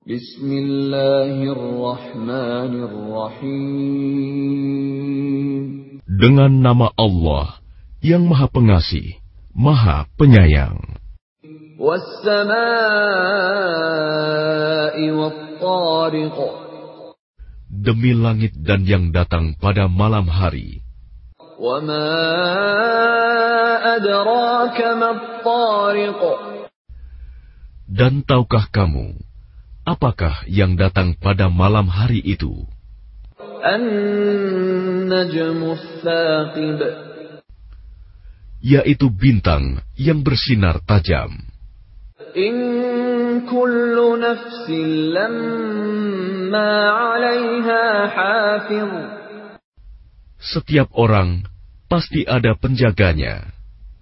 Bismillahirrahmanirrahim. Dengan nama Allah yang Maha Pengasih, Maha Penyayang. Was-samaa'i wat-tariq. Demi langit dan yang datang pada malam hari. Wa ma adraka mat-tariq. Dan tahukah kamu, apakah yang datang pada malam hari itu? An-najmu ats-tsaqib. Yaitu bintang yang bersinar tajam. In kullu nafsin lamma 'alaiha hafiz. Setiap orang pasti ada penjaganya.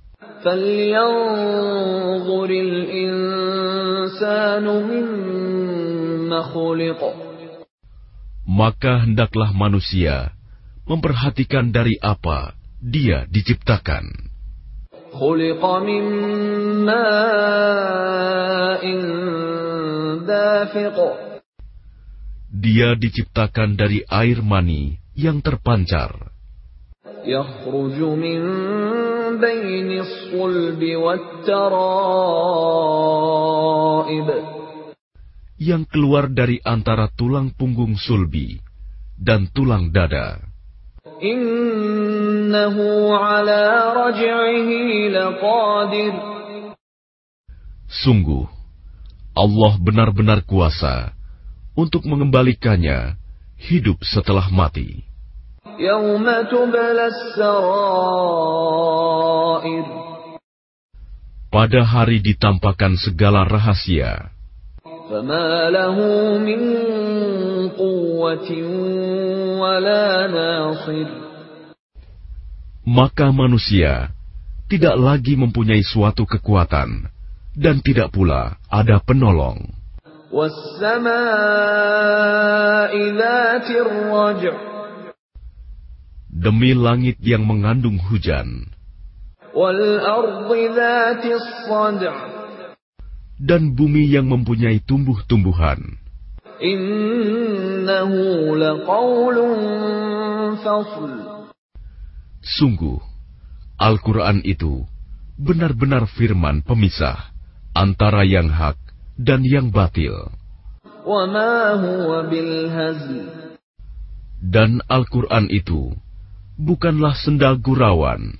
Falyanzuril insanu mimma khuliq. Maka hendaklah manusia memperhatikan dari apa dia diciptakan. Khuliqa min ma'in dafiq. Dia diciptakan dari air mani yang terpancar. Yakhruju min bainis sulbi wat-tara'ib. Yang keluar dari antara tulang punggung sulbi dan tulang dada. Innahu ala raj'ihi laqadir. Sungguh, Allah benar-benar kuasa untuk mengembalikannya hidup setelah mati. Yauma tublas sarair. Pada hari ditampakkan segala rahasia. Fama lahu min quwwatin wala nasir. Maka manusia tidak lagi mempunyai suatu kekuatan dan tidak pula ada penolong. Was-samaa'i dzatir raj'. Demi langit yang mengandung hujan. Wal ardi dzatis sad'. Dan bumi yang mempunyai tumbuh-tumbuhan. Innahu laqaulun fasl. Sungguh, Al-Quran itu benar-benar firman pemisah antara yang hak dan yang batil. Wa ma huwa bil hazl. Dan Al-Quran itu bukanlah senda gurauan.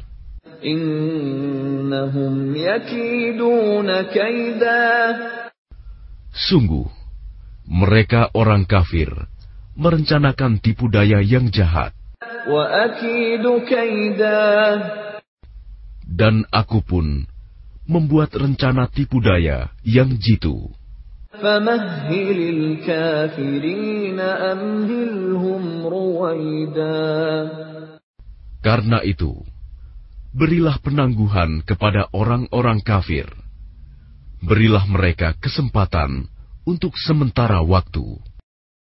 Innahum yakiduna kaida. Sungguh, mereka orang kafir merencanakan tipu daya yang jahat. Wa akidu kaida. Dan aku pun membuat rencana tipu daya yang jitu. Famahhilil kafirina amhilhum ruwaida. Karena itu, berilah penangguhan kepada orang-orang kafir. Berilah mereka kesempatan untuk sementara waktu.